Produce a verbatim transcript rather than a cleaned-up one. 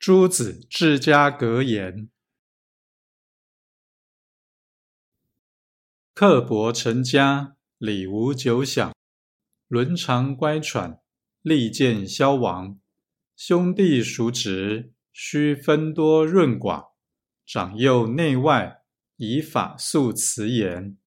诸子治家格言：刻薄成家，礼无久享；伦常乖舛，利见消亡。兄弟叔侄，须分多润寡；长幼内外，以法肃辞严。